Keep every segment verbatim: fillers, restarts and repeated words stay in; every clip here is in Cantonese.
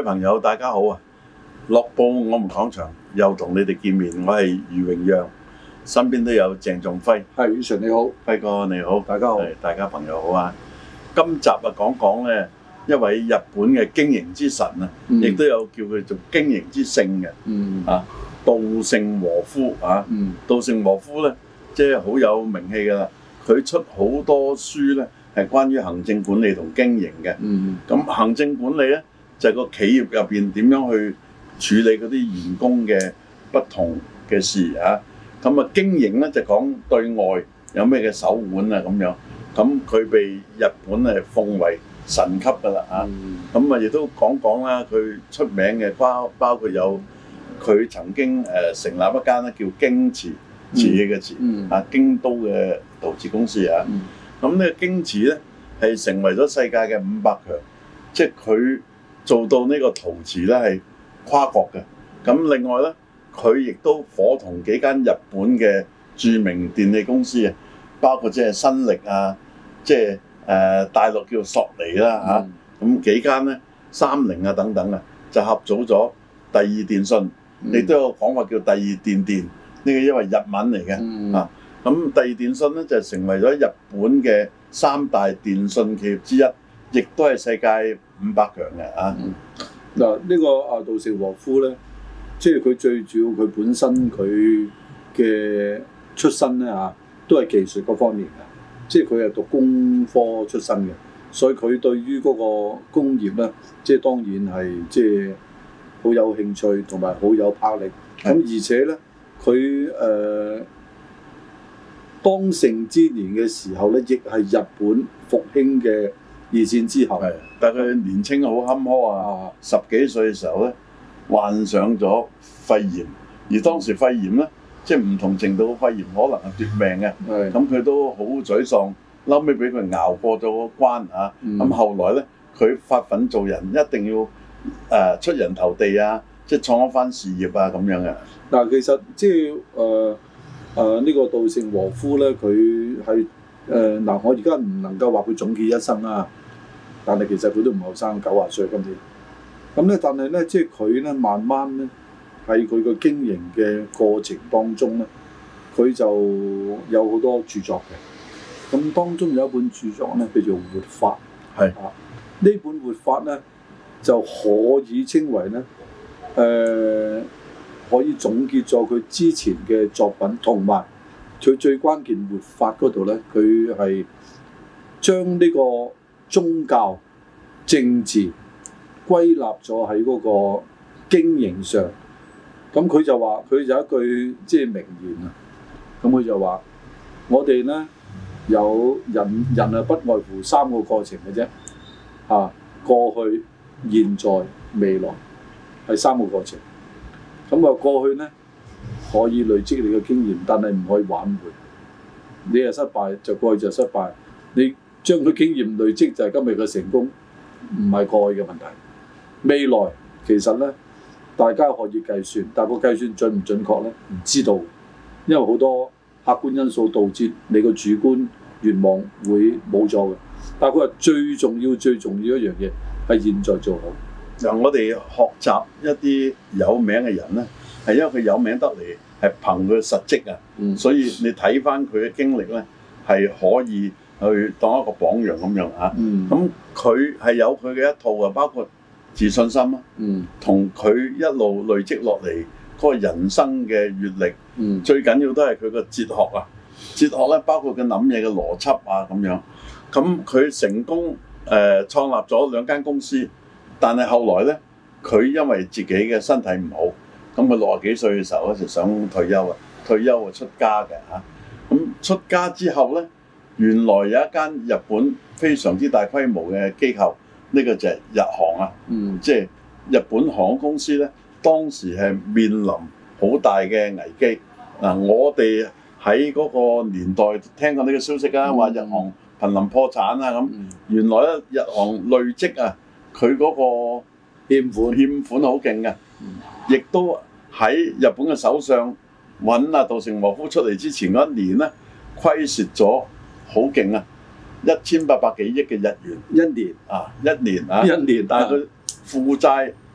朋友大家好啊！樂報我們講場又同你哋見面，我係余榮陽，身邊都有鄭仲輝。 係，宇純你好， 輝哥你好， 大家好， 大家朋友好啊！今集啊講講咧一位日本嘅經營之神啊，亦都、嗯、有叫佢做經營之聖嘅，嗯、啊稻盛和夫啊，嗯、稻盛和夫咧即係好有名氣噶啦，佢出好多書咧係關於行政管理同經營嘅。咁、嗯、行政管理咧就係、是、個企業入邊點樣去處理嗰啲員工嘅不同嘅事啊。咁啊經營咧就講對外有咩嘅手腕啊咁樣。咁佢被日本誒奉為神級㗎啦啊！咁啊亦都講講啦，佢出名嘅包包括有佢曾經誒成立一間咧叫京瓷，瓷器嘅瓷啊，京都嘅陶瓷公司啊。咁呢個京瓷咧係成為咗世界嘅五百強，即係佢做到呢個陶瓷咧係跨國嘅。咁另外咧，佢亦都夥同幾間日本嘅著名電器公司啊，包括即係新力啊，即係誒大陸叫做索尼啦嚇，咁、嗯啊、幾間咧三菱啊等等啊，就合組咗第二電信，亦、嗯、都有講話叫第二電電，呢、這個因為日文嚟嘅、嗯、啊。咁第二電信咧就成為咗日本嘅三大電信企業之一，亦都係世界五百強嘅啊。 嗱、嗯，呢個啊稻盛和夫咧，即係佢最主要佢本身佢嘅出身咧嚇，都係技術嗰方面嘅。即係佢係讀工科出身嘅，所以佢對於嗰個工業咧，即係當然係即係好有興趣同埋好有魄力。咁的而且咧，佢誒、呃、當盛之年嘅時候咧，亦係日本復興嘅二戰之後。係， 但係佢年青好坎坷啊！十幾歲嘅時候咧，患上咗肺炎，而當時肺炎咧。即係唔同程度嘅肺炎，可能係奪命嘅。咁佢的都好沮喪，後尾俾佢熬過咗個關啊。咁、嗯、後來咧，佢發奮做人，一定要誒、呃、出人頭地啊！即係創一番事業啊咁樣嘅。 嗱，其實即係誒誒呢個稻盛和夫咧，佢係誒嗱，我而家唔能夠話佢總結一生啊，但係其實佢都唔後生，九十歲今年。咁咧，但係咧，即係佢咧，慢慢咧。喺佢個經營嘅過程當中咧，佢就有好多著作嘅。咁當中有一本著作咧，叫做《活法》。係啊，呢本《活法》咧就可以稱為咧，誒、呃、可以總結咗佢之前嘅作品，同埋佢最關鍵活法嗰度咧，佢係將呢個宗教、政治歸納咗喺嗰個經營上。咁佢就話，佢有一句即係名言啊。咁佢就話：我哋咧有人人係不外乎三個過程嘅啫，嚇、啊、過去、現在、未來係三個過程。咁啊過去咧可以累積你嘅經驗，但係唔可以挽回。你係失敗就過去就失敗，你將佢經驗累積就係今日嘅成功，唔係過去嘅問題。未來其實咧。大家可以計算，但係個計算準唔準確咧？唔知道，因為好多客觀因素導致你個主觀願望會冇咗嘅。但係佢話最重要、最重要一樣嘢係現在做好。 嗱，我哋學習一啲有名嘅人咧，係因為佢有名得嚟，係憑佢實績啊。嗯、所以你睇翻佢嘅經歷咧，係可以去當一個榜樣咁樣啊。咁佢係有佢嘅一套啊，包括自信心啊，同佢、嗯、一路累積落嚟嗰個人生嘅閲歷，嗯、最緊要都係佢個哲學啊。哲學咧包括佢諗嘢嘅邏輯啊咁樣。咁佢成功誒、呃、創立咗兩間公司，但係後來咧佢因為自己嘅身體唔好，咁佢六十幾歲嘅時候咧就想退休啊，退休啊出家嘅嚇。咁出家之後咧，原來有一間日本非常之大規模嘅機構。呢個就係日航啊，嗯、即係日本航空公司咧，當時係面臨好大嘅危機。嗱、啊，我哋喺嗰個年代聽過呢個消息啊，話、嗯、日航瀕臨破產啊咁。嗯、原來咧日航累積啊，佢嗰個欠款欠款好勁嘅，亦、嗯、都喺日本嘅首相揾阿稻盛和夫出嚟之前嗰一年咧，虧蝕咗好勁啊！一千八百幾億嘅日元，一年啊，一年啊，一年，但係佢負債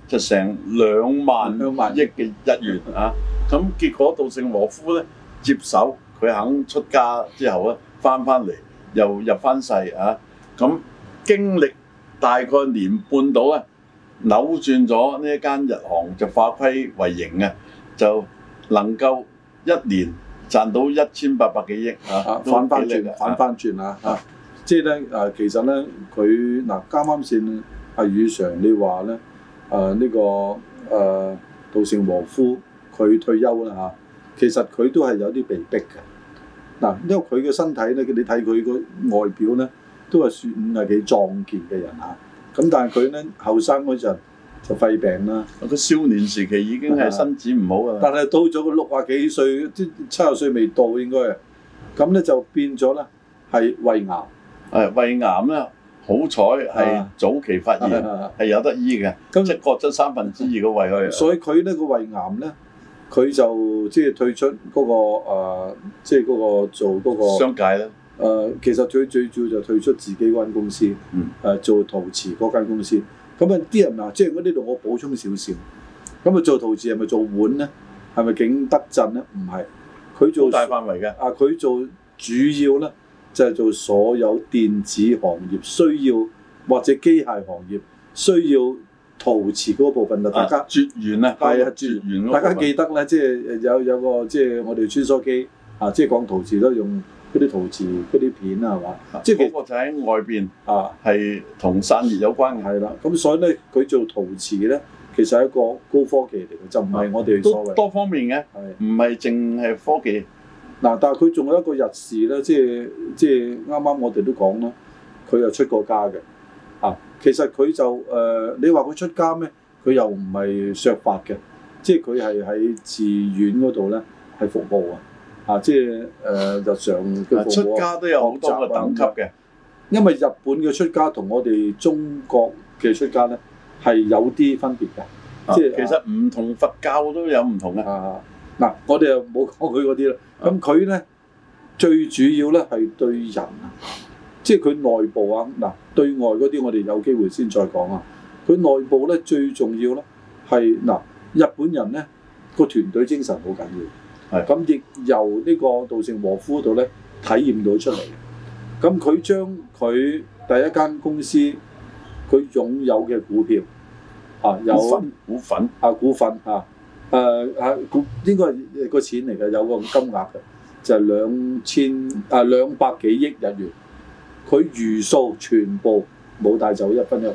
就成兩萬億嘅日元啊！咁結果稻盛和夫咧接手，佢肯出家之後咧，翻翻嚟又入翻世啊！咁經歷大概年半到咧，扭轉咗呢一間日航就化虧為盈啊，就能夠一年賺到一千八百幾億啊！ 反翻轉，反翻轉啊！啊，即係咧誒，其實咧佢嗱啱啱先阿宇常你話咧誒呢個誒稻盛和夫佢退休啦嚇，其實佢都係有啲被逼嘅嗱，因為佢嘅身體咧，你睇佢個外表咧都係算係幾壯健嘅人嚇，咁但係佢咧後生嗰陣就肺病啦， 佢少年時期已經係身子唔好㗎啦， 但係到咗個六啊幾歲，即七十歲未到應該係，咁咧就變咗咧係胃癌， 係胃癌咧。好彩係早期發現，係有得醫嘅，即係割咗三分之二個胃去。 所以佢呢個胃癌咧，佢就即係退出嗰個誒，即係嗰個做嗰個商界咧。 誒，其實最最主要就退出自己嗰間公司，誒做陶瓷嗰間公司。咁啊，啲人嗱，即係我呢度我補充少少。咁啊，做陶瓷係咪做碗咧？係咪景德鎮咧？唔係，佢做大範圍嘅。 啊，佢做主要咧。就係做所有電子行業需要或者機械行業需要陶瓷嗰部分啊，大家絕緣啊，係啊，絕緣嗰部分。 大家記得咧，即係有有個即係我哋穿梭機啊，即係講陶瓷都用嗰啲陶瓷嗰啲片啊，係嘛？即係嗰個就喺外邊啊，係同散熱有關嘅。係啦， 咁所以咧，佢做陶瓷咧，其實係一個高科技嚟嘅，就唔係我哋所謂多方面嘅，唔係淨係科技。 嗱，但係佢仲有一個日事咧，即係即係啱啱我哋都講啦，佢又出過家嘅，啊，其實佢就誒、呃，你話佢出家咩？佢又唔係削髮嘅，即係佢係喺寺院嗰度咧係服務啊，啊，即係誒、呃、日常嘅服務。出家都有好多個等級嘅，因為日本嘅出家同我哋中國嘅出家咧係有啲分別嘅，啊、即係其實唔同佛教都有唔同嘅。啊嗱、啊，我哋又冇講佢嗰啲啦。咁佢咧最主要咧係對人啊，即係佢內部啊。嗱，對外嗰啲我哋有機會先再講啊。佢內部咧最重要咧係嗱，日本人咧個團隊精神好緊要。係。咁亦由呢個稻盛和夫度咧體驗到出嚟。咁佢將佢第一間公司佢擁有嘅股票啊，有股份股份啊股份啊。誒係股應該係個錢嚟嘅，有個金額嘅，就係兩千啊兩百幾億日元。佢餘數全部冇帶走一分一毫，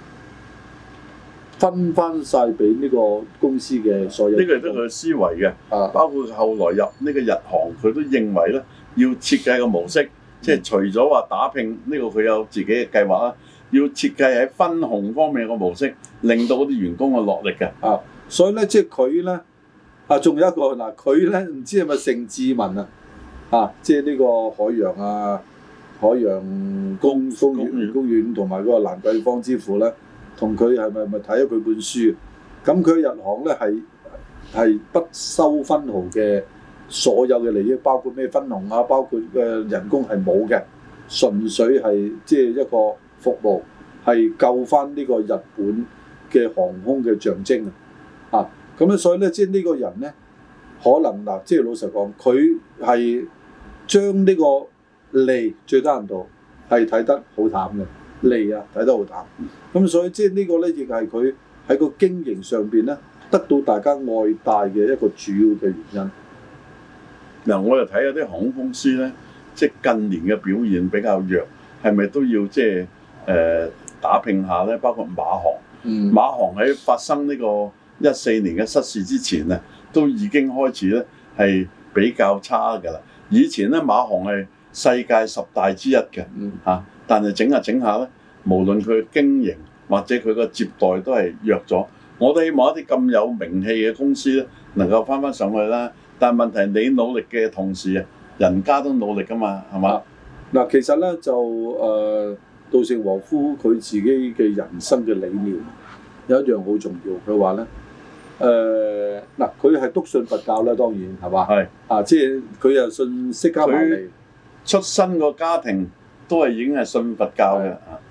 分翻晒俾呢個公司嘅所有。呢個係得佢嘅思維嘅，啊，包括後來入呢個日航，佢都認為咧要設計個模式，嗯、即係除咗話打拼呢、呢個佢有自己嘅計劃啦，要設計喺分紅方面個模式，令到嗰啲員工嘅落力嘅，啊。所以咧，即係佢咧，啊，仲有一個嗱，佢咧唔知係咪姓志文啊？啊，即係呢個海洋啊，海洋公公園公園同埋嗰個蘭桂坊之父咧，同佢係咪咪睇咗佢本書？咁佢日航咧係係不收分毫嘅，所有嘅利益，包括咩分紅啊，包括嘅人工係冇嘅，純粹係即係一個服務，係救翻呢個日本嘅航空嘅象徵啊！啊，咁咧，所以咧，即係呢個人咧，可能嗱，即係老實講，佢係將呢個利最低限度係睇得好淡嘅利啊，睇得好淡。咁所以即係呢個咧，亦係佢喺個經營上邊咧，得到大家愛戴嘅一個主要嘅原因。嗱、嗯，我又睇有啲航空公司咧，即係近年嘅表現比較弱，係咪都要即係誒、呃、打拼下咧？包括馬航，嗯、馬航喺發生呢、這個一四年嘅失事之前啊，都已經開始咧係比較差㗎啦。以前咧馬航係世界十大之一嘅嚇、嗯啊，但係整下整下咧，無論佢經營或者佢個接待都係弱咗。我都希望一啲咁有名氣嘅公司咧，能夠翻翻上去啦。但係問題你努力嘅同時啊，人家都努力㗎嘛，係嘛？嗱、啊，其實咧就誒稻盛和夫佢自己嘅人生嘅理念有一樣好重要，佢話咧。誒嗱，佢係篤信佛教啦，當然係嘛？係啊，即係佢又信釋迦牟尼。出身個家庭都係已經係信佛教嘅。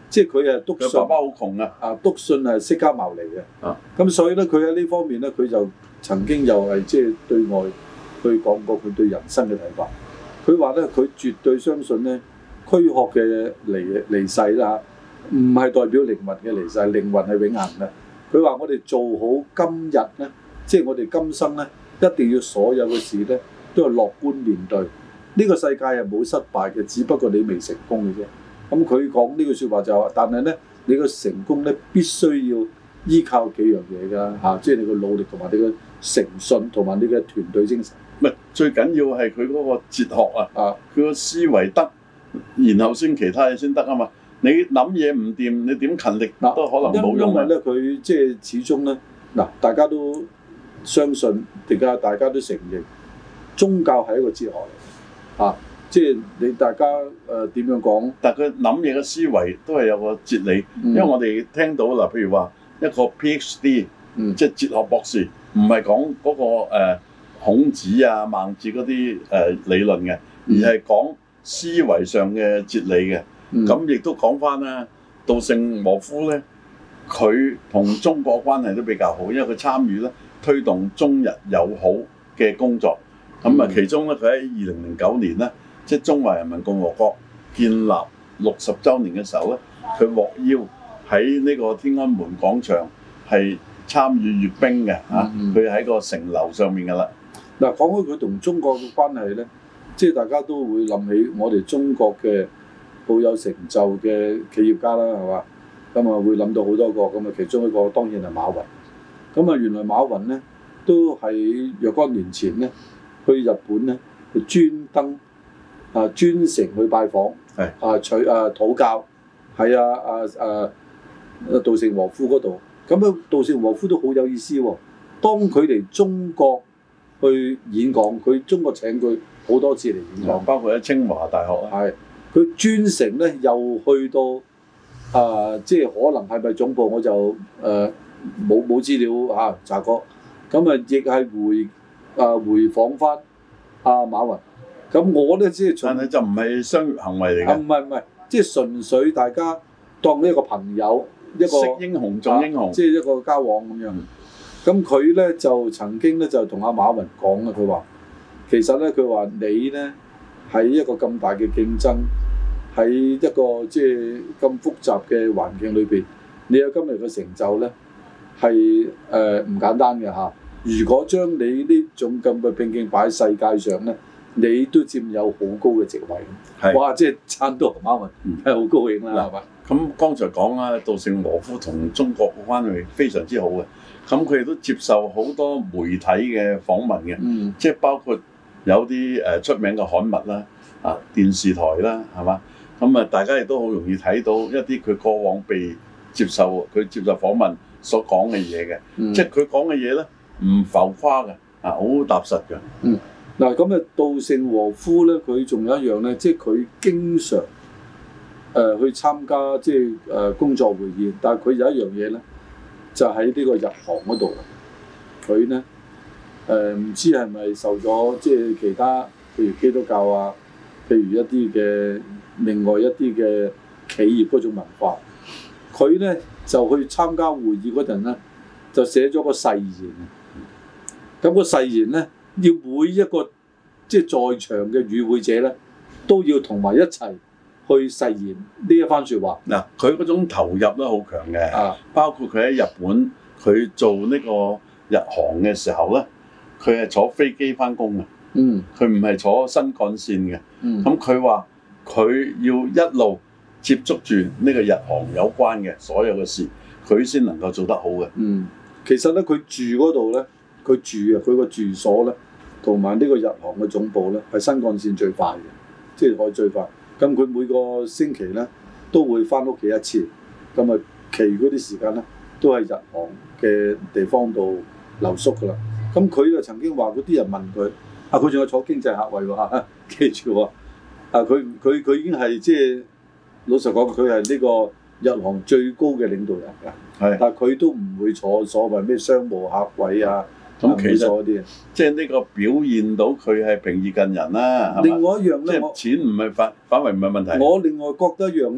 即係佢係篤信。 佢爸爸好窮啊！ 啊，篤信係釋迦牟尼嘅。 啊， 咁所以咧，佢喺呢方面咧，佢就曾經又係即係對外去講過佢對人生嘅睇法。佢話咧，佢絕對相信咧，軀殼嘅離離世啦，唔係代表靈魂嘅離世，靈魂係永恆嘅。佢話我哋做好今日咧，即係我哋今生咧，一定要所有嘅事咧都係樂觀面對。呢個世界係冇失敗嘅，只不過你未成功嘅啫。咁佢講呢句説話就係話，但係咧，你個成功咧必須要依靠幾樣嘢㗎嚇，即係你個努力同埋你嘅誠信同埋你嘅團隊精神。 唔係最緊要係佢嗰個哲學啊，啊，佢個思維得，然後先其他嘢先得啊嘛。你諗嘢唔掂，你點勤力都可能冇用啊。 因為咧，佢即係始終咧，嗱，大家都相信，而家大家都承認，宗教係一個哲學嚟啊。即係你大家誒點樣講？但係佢諗嘢嘅思維都係有個哲理，嗯、因為我哋聽到嗱，譬如話一個 PhD，嗯、即係哲學博士，唔係講嗰個、呃、孔子啊、孟子嗰啲誒理論嘅，而係講思維上嘅哲理嘅。咁亦、嗯、都講翻啦，稻盛和夫咧，佢同中國關係都比較好，因為佢參與咧推動中日友好嘅工作。咁啊、嗯，其中咧佢喺二零零九年咧。即係中華人民共和國建立六十週年嘅時候咧，佢獲邀喺呢個天安門廣場係參與閱兵嘅嚇，佢喺、嗯、個城樓上面㗎啦。嗱，講開佢同中國嘅關係咧，即係大家都會諗起我哋中國嘅好有成就嘅企業家啦，係嘛？咁啊會諗到好多個，咁啊其中一個當然係馬雲。咁啊原來馬雲咧都喺若干年前咧去日本咧，佢專登。啊，專程去拜訪，係是啊取啊討教，喺啊啊啊稻盛和夫嗰度。咁啊，稻盛和夫都好有意思喎、哦。當佢嚟中國去演講，佢中國請佢好多次嚟演講，包括喺清華大學啊。係，佢專程咧又去到啊，即係可能係咪總部我就誒冇冇資料嚇、啊、查過。咁啊，亦係回啊回訪翻阿馬雲。咁我咧即係，但係就唔係商業行為嚟嘅。唔係唔係，即係純粹大家當呢一個朋友，一個識英雄重英雄，即係一個交往咁樣。咁佢咧就曾經咧就同阿馬雲講啊，佢話其實咧佢話你咧喺一個咁大嘅競爭，喺一個即係咁複雜嘅環境裏邊，你有今日嘅成就咧係誒唔簡單嘅嚇。如果將你呢種咁嘅拼勁擺喺世界上咧，你都佔有好高嘅職位，是哇！即係撐到馬雲係好高興啦，係嘛、嗯？咁剛才講啦，稻盛和夫同中國嘅關係非常之好嘅，咁佢哋都接受好多媒體嘅訪問嘅，嗯、即係包括有啲誒出名嘅刊物啦，啊電視台啦，係嘛？咁啊，大家亦都好容易睇到一啲佢過往被接受佢接受訪問所講嘅嘢嘅，嗯、即係佢講嘅嘢咧唔浮誇嘅，啊好踏實嘅。嗯嗱咁啊，稻盛和夫咧，佢仲有一樣咧，即係佢經常誒、呃、去參加即係誒、呃、工作會議，但係佢有一樣嘢咧，就喺呢個日韓嗰度，佢咧誒唔知係咪受咗即係其他譬如基督教啊，譬如一啲嘅另外一啲嘅企業嗰種文化，佢咧就去參加會議嗰陣咧，就寫咗個誓言。咁個誓言咧，要每一個即係在場嘅與會者咧，都要同埋一齊去誓言呢一番説話。嗱，佢嗰種投入都好強嘅，啊、包括佢喺日本佢做呢個日航嘅時候咧，佢係坐飛機翻工嘅，嗯，佢唔係坐新幹線嘅，嗯，咁佢話佢要一路接觸住呢個日航有關嘅所有嘅事，佢先能夠做得好嘅。嗯，其實咧佢住嗰度咧。佢住啊，佢個住所咧，同埋呢個日航嘅總部咧，係新幹線最快嘅，即係可以最快。咁佢每個星期咧都會翻屋企一次，咁啊，其餘嗰啲時間咧都係日航嘅地方度留宿㗎啦。咁佢就曾經話嗰啲人問佢，啊，佢仲有坐經濟客位喎嚇，記住喎，啊，佢佢佢已經係即係老實講，佢係呢個日航最高嘅領導人㗎，係，但係佢都唔會坐所謂咩商務客位啊。咁其實即係呢個表現到佢係平易近人啦。另外一樣咧，即係錢唔係反反為唔係問題。我另外覺得一樣咧，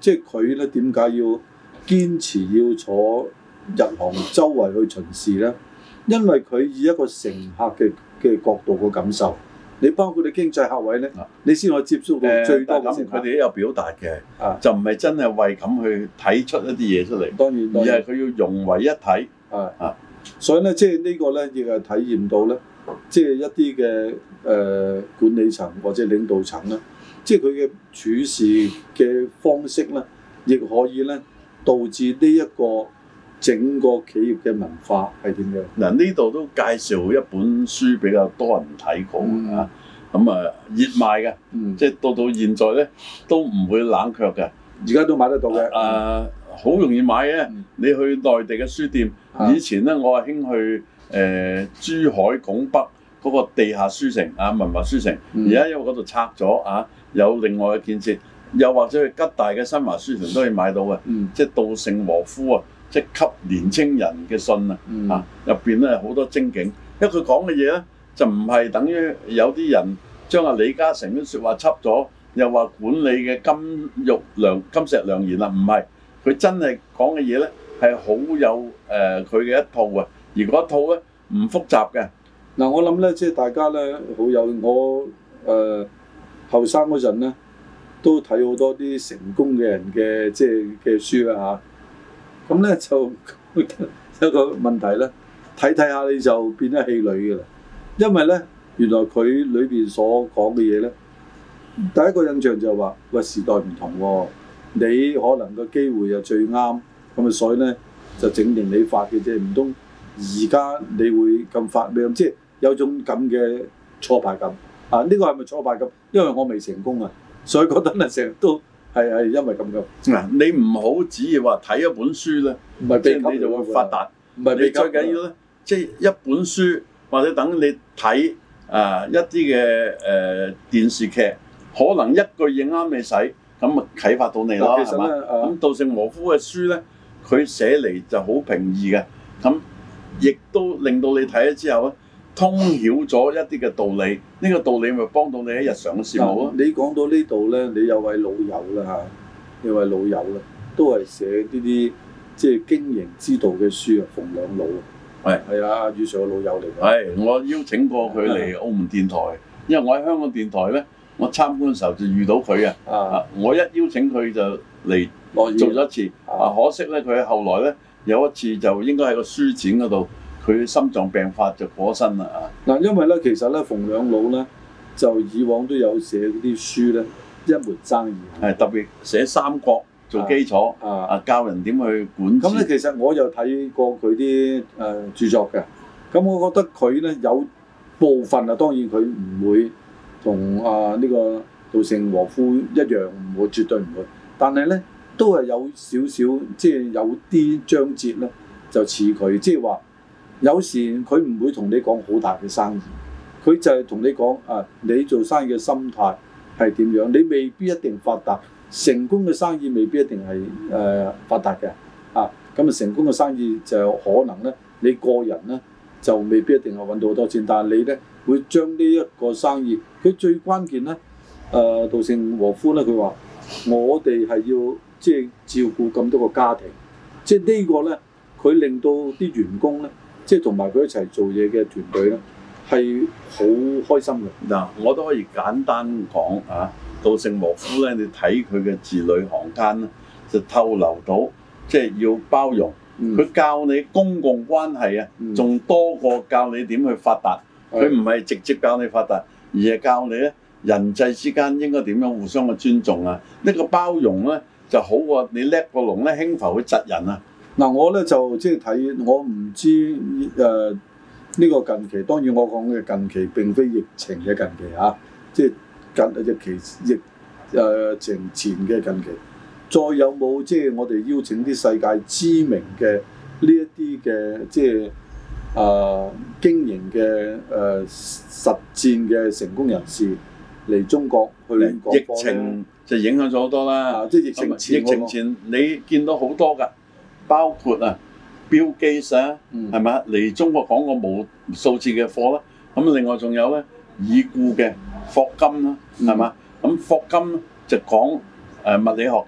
即係佢咧點解要堅持要坐日航周圍去巡視咧？因為佢以一個乘客嘅嘅角度嘅感受，你包括你經濟客位咧，啊、你先可以接觸到最多嘅乘客。佢哋都有表達嘅，啊、就唔係真係為咁去睇出一啲嘢出嚟。當然，當然而係佢要融為一體。啊啊，所以咧，即係呢個咧亦係體驗到咧，即係一啲嘅誒管理層或者領導層咧，即係佢嘅處事嘅方式咧，亦可以咧導致呢一個整個企業嘅文化係點樣？嗱，呢度都介紹一本書比較多人睇過啊，咁啊熱賣嘅，嗯、即係到到現在咧都唔會冷卻嘅，而家都買得到嘅。啊，好、啊、容易買嘅，嗯、你去內地嘅書店，啊、以前咧我係興去誒、呃、珠海拱北嗰個地下書城啊，文華書城，而家、嗯、因為嗰度拆咗啊，有另外嘅建設，又或者去吉大嘅新華書城都可以買到嘅，嗯、即係稻盛和夫啊。即係給年青人嘅信啊！嗯、啊，入邊咧好多精警，因為佢講嘅嘢咧就唔係等於有啲人將阿李嘉誠啲説話輯咗，又話管理嘅金玉良金石良言啦，唔係，佢真係講嘅嘢咧係好有誒佢嘅一套啊，而嗰一套咧唔複雜嘅。嗱、嗯，我諗咧即係大家咧好有我誒後生嗰陣咧都睇好多啲成功嘅人嘅即係嘅書啦嚇。啊咁咧就有個問題咧，睇睇下你就變咗氣餒嘅啦。因為咧，原來佢裏邊所講嘅嘢咧，第一個印象就係話：喂，時代唔同喎、哦，你可能個機會又最啱，咁啊，所以咧就整定你發嘅啫。唔通而家你會咁發咩？即係有種咁嘅挫敗感啊！呢、這個係咪挫敗感？因為我未成功啊，所以覺得咧成日都。係係因為咁嘅嗱，你唔好只係話睇一本書咧，唔係即係你就會發達。唔係你最緊要咧，即係一本書或者等你睇啊、呃、一啲嘅誒電視劇，可能一句嘢啱你使，咁啊啟發到你咯，係嘛？咁稻盛和夫嘅書咧，佢寫嚟就好平易嘅，咁亦都令到你睇咗之後咧，通曉咗一啲嘅道理，呢、這個道理咪幫到你喺日常嘅事務咯。你講到呢度咧，你有位老友啦嚇，有位老友啦，都係寫呢啲即係經營之道嘅書啊，馮兩老。係係啊，余 Sir 嘅老友嚟嘅。係，我邀請過佢嚟澳門電台，因為我喺香港電台咧，我參觀嘅時候就遇到佢啊。啊，我一邀請佢就嚟做咗一次。啊，可惜咧，佢後來咧有一次就應該喺個書展嗰度。佢心臟病發就過身啦啊！嗱，因為咧，其實咧，馮兩老咧就以往都有寫嗰啲書咧，一門生意係特別寫三國做基礎啊，啊教人點去管治。咁咧，其實我又睇過佢啲誒著作嘅，咁我覺得佢咧有部分啊，當然佢唔會同啊呢個稻盛和夫一樣，唔會絕對唔會，但係咧都係有少少即係有啲章節咧就似佢，即係話。有時佢唔會同你講好大嘅生意，佢就係同你講啊，你做生意嘅心態係點樣？你未必一定發達，成功嘅生意未必一定係誒、呃、發達嘅啊。咁啊，成功嘅生意就可能咧，你個人咧就未必一定係揾到好多錢，但係你咧會將呢一個生意，佢最關鍵咧誒，稻盛和夫咧佢話：我哋係要即係照顧咁多個家庭，即係呢個咧佢令到啲員工咧。即係同埋佢一齊做嘢嘅團隊咧，係好開心嘅。嗱，我都可以簡單講啊，稻盛和夫咧，你睇佢嘅字裏行間咧，就透露到即係要包容。佢、嗯、教你公共關係啊，仲、嗯、多過教你點去發達。佢唔係直接教你發達，而係教你咧人際之間應該點樣互相嘅尊重啊。呢、呢個包容咧就好過你叻過龍咧輕浮去窒人啊。嗱，我咧就即係睇，我唔知誒呢、呃呢個近期，當然我講嘅近期並非疫情嘅近期嚇、啊，即係近疫期疫誒情前嘅近期，再有冇即係我哋邀請啲世界知名嘅呢一啲嘅即係誒、呃、經營嘅誒、呃、實戰嘅成功人士嚟中國去講課咧？疫情就影響咗好多啦，啊、即係疫情前，疫情前你見到好多㗎。包括啊，Bill Gates啊，係咪嚟中國講過無數次嘅課啦？咁另外仲有咧已故嘅霍金啦，係嘛？咁霍金就講誒物理學嘅，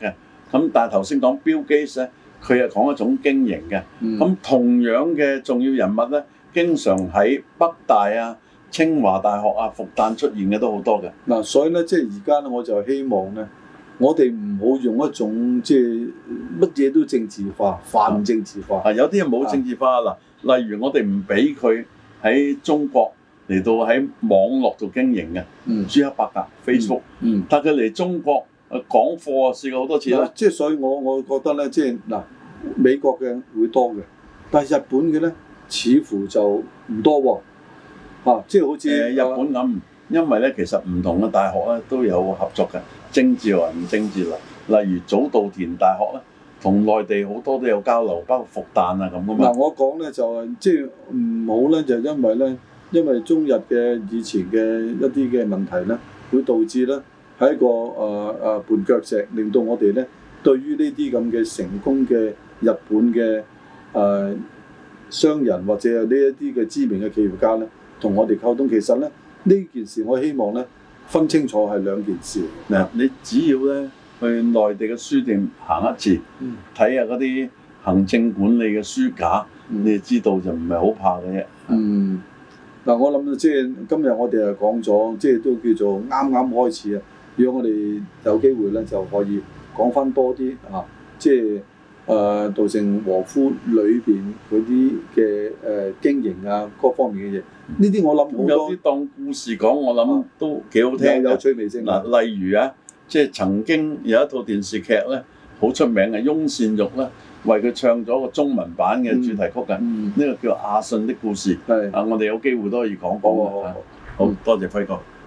咁但係頭先講 Bill Gates咧，佢係講一種經營嘅。咁、嗯、同樣嘅重要人物咧，經常喺北大啊、清華大學啊、復旦出現嘅都好多嘅。 嗱、啊，所以咧，即係而家咧，我就希望咧，我哋唔好用一種即係乜嘢都政治化、泛政治化。 啊，有啲人冇政治化嗱、啊，例如我哋唔俾佢喺中國嚟到喺網絡做經營嘅，嗯，朱克伯格 Facebook，嗯，但佢嚟中國誒講課啊，試過好多次啦。 即係所以我我覺得咧，即係嗱，美國嘅會多嘅，但係日本嘅咧似乎就唔多喎。啊，即係好似、呃、 日本咁，因為咧其實唔同嘅大學咧都有合作嘅，政治或唔政治啦。例如早稻田大學咧，同內地好多都有交流，包括復旦啊咁噶嘛。嗱、 啊，我講咧就係即係唔好咧，就因為咧，因為中日嘅以前嘅一啲嘅問題咧，會導致咧係一個誒誒、呃、絆腳石，令到我哋咧對於呢啲咁嘅成功嘅日本嘅誒、呃、商人或者係呢一啲嘅知名嘅企業家咧，同我哋溝通。其實咧呢件事，我希望咧分清楚係兩件事。 嗱，你只要咧去內地嘅書店行一次，睇下嗰啲行政管理嘅書架，嗯、你就知道就唔係好怕嘅啫。 嗯，嗱、嗯，我諗即係今日我哋係講咗，即係都叫做啱啱開始啊。如果我哋有機會咧，就可以講翻多啲啊，即係誒稻盛和夫裏邊嗰啲嘅誒經營啊，各方面嘅嘢。呢啲我諗好多有啲當故事講，我諗都幾好聽， 有趣味性。 嗱，例如啊，即係曾經有一套電視劇咧，好出名嘅，翁倩玉咧為佢唱咗個中文版嘅主題曲嘅，呢、嗯嗯、個叫《阿信的故事》。係啊，我哋有機會都可以講講嘅。好，好，好，好多謝輝哥。